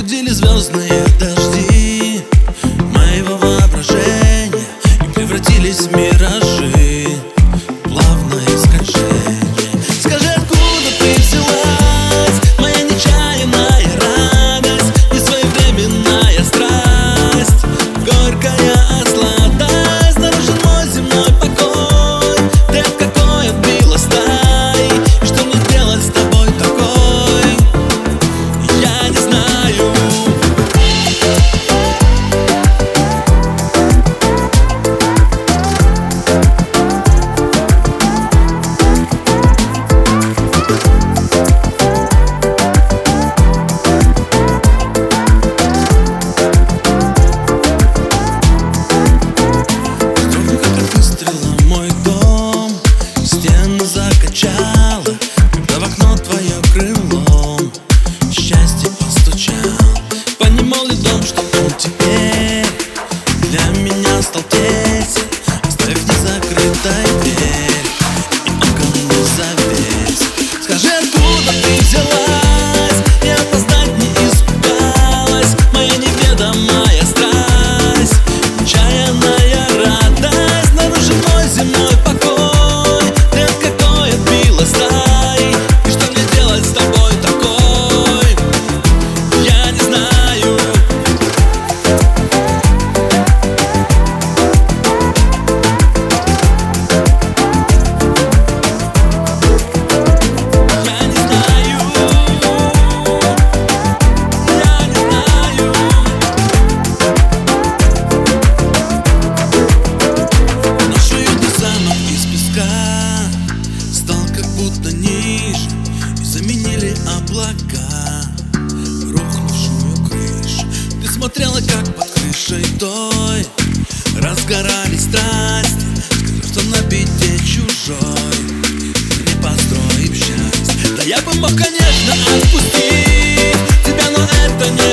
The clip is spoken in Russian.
Разбудили звездные дожди моего воображения и превратились в миражи, плавное скольжение. Скажи, откуда ты взялась, моя нечаянная радость, несвоевременная страсть, горькая сладость, нарушен мой земной покой. Ты от какой отбила стаи, и что мне делать с тобой такой, я не знаю. Стены закачало, когда в окно твое крылом счастье постучал. Понимал ли дом, что он теперь для меня стал тесен, оставив незакрытой дверь и окон не завесь. Скажи, откуда ты взялась, и опоздать не испугалась, моя неведомая страсть, нечаянная радость, нарушен мой земной покой. И что мне делать с тобой такой, я не знаю. Я не знаю. Я не знаю. Наш уютный замок из песка стал как будто ниже, и заменили облака рухнувшую крышу. Ты смотрела, как под крышей той разгорались страсти. Скажи, что на беде чужой мы не построим счастье. Да я бы мог, конечно, отпустить тебя, но это не